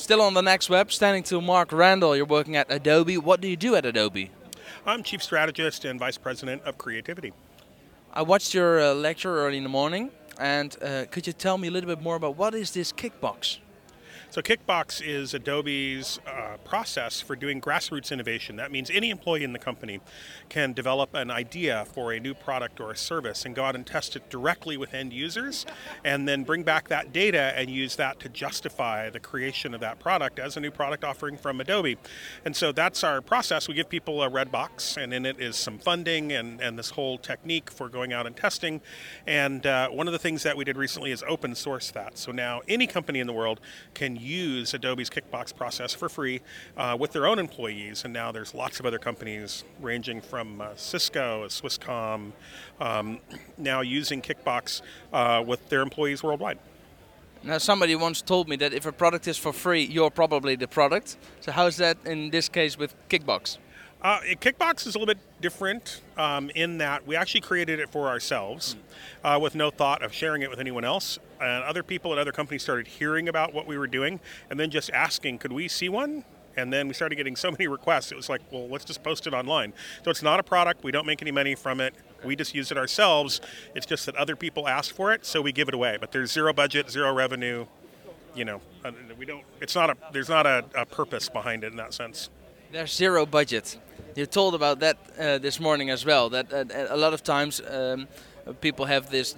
Still on the Next Web, standing to Mark Randall. You're working at Adobe. What do you do at Adobe? I'm Chief Strategist and Vice President of Creativity. I watched your lecture early in the morning, and could you tell me a little bit more about what is this Kickbox? So Kickbox is Adobe's process for doing grassroots innovation. That means any employee in the company can develop an idea for a new product or a service and go out and test it directly with end users, and then bring back that data and use that to justify the creation of that product as a new product offering from Adobe. And so that's our process. We give people a red box, and in it is some funding and this whole technique for going out and testing. And one of the things that we did recently is open source that. So now any company in the world can use Adobe's Kickbox process for free with their own employees, and now there's lots of other companies ranging from Cisco, Swisscom, now using Kickbox with their employees worldwide. Now, somebody once told me that if a product is for free, you're probably the product. So how is that in this case with Kickbox? Kickbox is a little bit different in that we actually created it for ourselves with no thought of sharing it with anyone else. And other people at other companies started hearing about what we were doing and then just asking, could we see one? And then we started getting so many requests. It was like, well, let's just post it online. So it's not a product. We don't make any money from it. We just use it ourselves. It's just that other people ask for it, so we give it away. But there's zero budget, zero revenue. You know, we don't. It's not a. There's not a purpose behind it in that sense. There's zero budget. You told about that this morning as well. That a lot of times people have this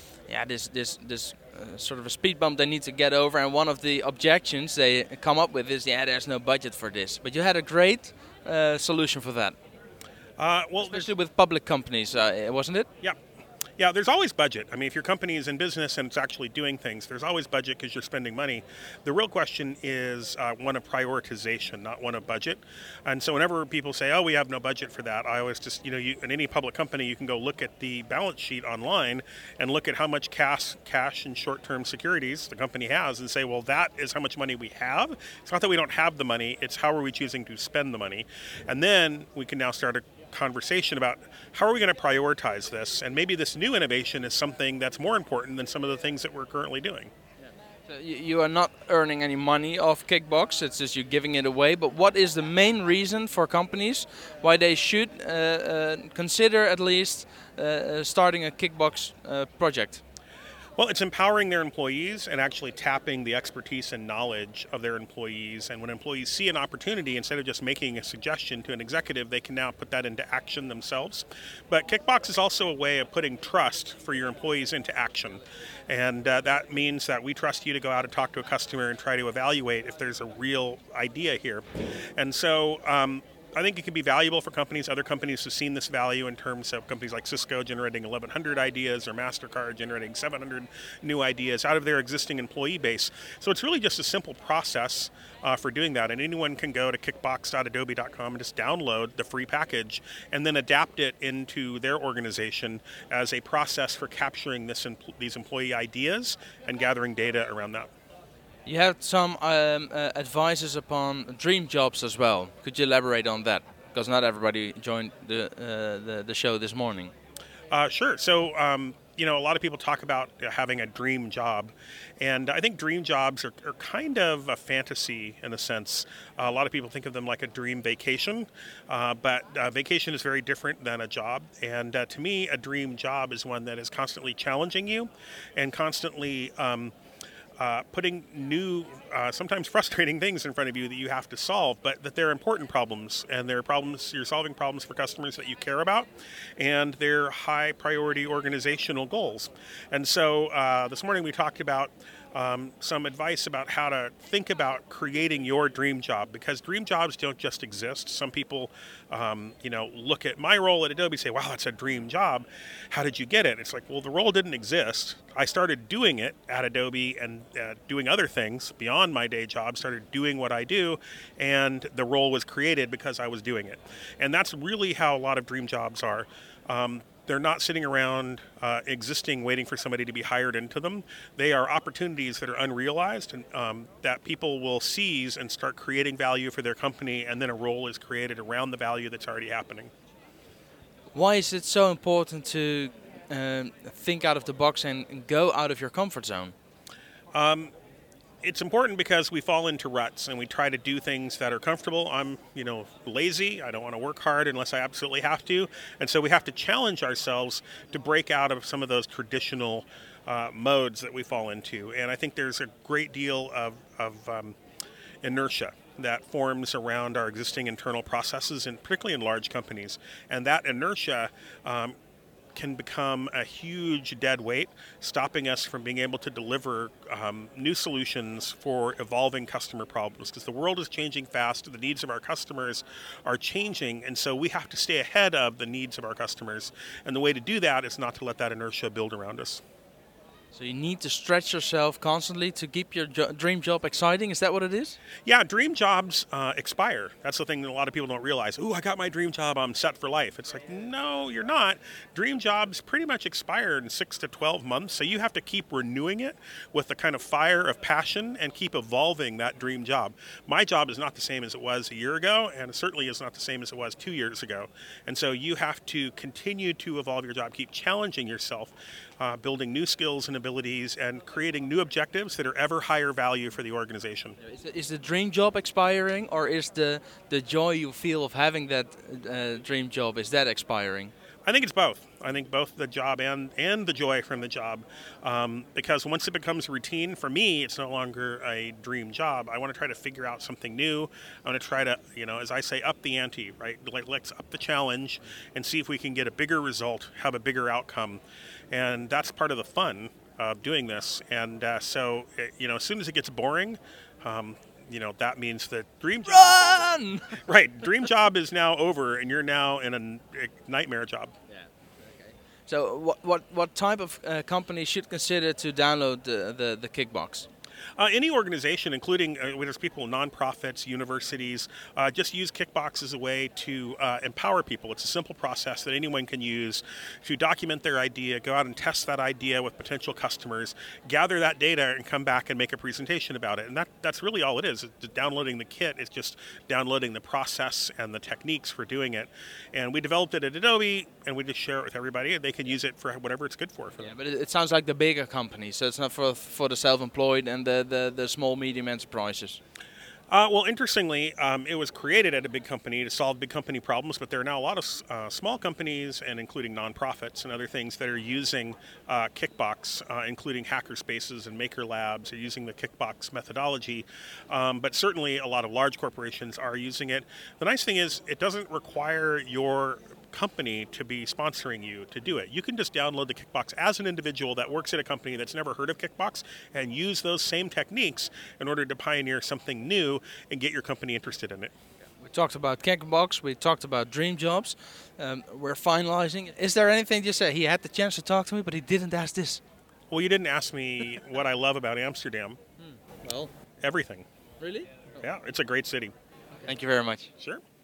sort of a speed bump they need to get over, and one of the objections they come up with is, there's no budget for this. But you had a great solution for that. Especially with public companies, wasn't it? Yeah. Yeah, there's always budget. I mean, if your company is in business and it's actually doing things, there's always budget because you're spending money. The real question is one of prioritization, not one of budget. And so whenever people say, oh, we have no budget for that, I always just, in any public company, you can go look at the balance sheet online and look at how much cash and short-term securities the company has and say, well, that is how much money we have. It's not that we don't have the money, it's how are we choosing to spend the money. And then we can now start a conversation about how are we going to prioritize this, and maybe this new innovation is something that's more important than some of the things that we're currently doing. So you are not earning any money off Kickbox, it's just you're giving it away, but what is the main reason for companies why they should consider at least starting a Kickbox project? Well, it's empowering their employees and actually tapping the expertise and knowledge of their employees. And when employees see an opportunity, instead of just making a suggestion to an executive, they can now put that into action themselves. But Kickbox is also a way of putting trust for your employees into action. And that means that we trust you to go out and talk to a customer and try to evaluate if there's a real idea here. And so I think it can be valuable for companies. Other companies have seen this value in terms of companies like Cisco generating 1,100 ideas or MasterCard generating 700 new ideas out of their existing employee base. So it's really just a simple process for doing that. And anyone can go to kickbox.adobe.com and just download the free package and then adapt it into their organization as a process for capturing these employee ideas and gathering data around that. You had some advices upon dream jobs as well. Could you elaborate on that? Because not everybody joined the show this morning. Sure. So, a lot of people talk about having a dream job. And I think dream jobs are kind of a fantasy in a sense. A lot of people think of them like a dream vacation. But vacation is very different than a job. And to me, a dream job is one that is constantly challenging you and constantly putting new, sometimes frustrating things in front of you that you have to solve, but that they're important problems, and they're problems, you're solving problems for customers that you care about, and they're high priority organizational goals. And so this morning we talked about some advice about how to think about creating your dream job, because dream jobs don't just exist. Some people, look at my role at Adobe and say, wow, that's a dream job. How did you get it? It's like, well, the role didn't exist. I started doing it at Adobe and doing other things beyond my day job, started doing what I do, and the role was created because I was doing it. And that's really how a lot of dream jobs are. They're not sitting around existing, waiting for somebody to be hired into them. They are opportunities that are unrealized and that people will seize and start creating value for their company, and then a role is created around the value that's already happening. Why is it so important to think out of the box and go out of your comfort zone? It's important because we fall into ruts and we try to do things that are comfortable. I'm, lazy. I don't want to work hard unless I absolutely have to. And so we have to challenge ourselves to break out of some of those traditional modes that we fall into. And I think there's a great deal of inertia that forms around our existing internal processes, and particularly in large companies. And that inertia can become a huge dead weight, stopping us from being able to deliver new solutions for evolving customer problems. Because the world is changing fast, the needs of our customers are changing, and so we have to stay ahead of the needs of our customers. And the way to do that is not to let that inertia build around us. So you need to stretch yourself constantly to keep your dream job exciting. Is that what it is? Yeah, dream jobs expire. That's the thing that a lot of people don't realize. Ooh, I got my dream job, I'm set for life. It's like, no, you're not. Dream jobs pretty much expire in 6 to 12 months, so you have to keep renewing it with the kind of fire of passion and keep evolving that dream job. My job is not the same as it was a year ago, and it certainly is not the same as it was 2 years ago. And so you have to continue to evolve your job, keep challenging yourself, building new skills and abilities, and creating new objectives that are ever higher value for the organization. Is the dream job expiring, or is the joy you feel of having that dream job, is that expiring? I think it's both. I think both the job and the joy from the job, because once it becomes routine, for me, it's no longer a dream job. I want to try to figure out something new. I want to try to, as I say, up the ante, right? Like, let's up the challenge and see if we can get a bigger result, have a bigger outcome. And that's part of the fun of doing this. And so, as soon as it gets boring, that means that dream job. Run! Right, dream job is now over, and you're now in a nightmare job. Yeah. Okay. So, what type of company should consider to download the Kickbox? Any organization, including there's people, nonprofits, universities, just use Kickbox as a way to empower people. It's a simple process that anyone can use to document their idea, go out and test that idea with potential customers, gather that data, and come back and make a presentation about it. And that's really all it is. Downloading the kit is just downloading the process and the techniques for doing it. And we developed it at Adobe, and we just share it with everybody, and they can use it for whatever it's good for them. Yeah, but it sounds like the bigger companies, so it's not for the self-employed and the small, medium enterprises. Well, interestingly, it was created at a big company to solve big company problems, but there are now a lot of small companies, and including nonprofits and other things, that are using Kickbox, including hackerspaces and maker labs, are using the Kickbox methodology. But certainly a lot of large corporations are using it. The nice thing is it doesn't require your company to be sponsoring you to do it. You can just download the Kickbox as an individual that works at a company that's never heard of Kickbox and use those same techniques in order to pioneer something new and get your company interested in it. We talked about Kickbox, we talked about dream jobs. We're finalizing. Is there anything you say? He had the chance to talk to me, but he didn't ask this. Well, you didn't ask me what I love about Amsterdam. Well, everything. Really? Yeah, it's a great city. Thank you very much. Sure.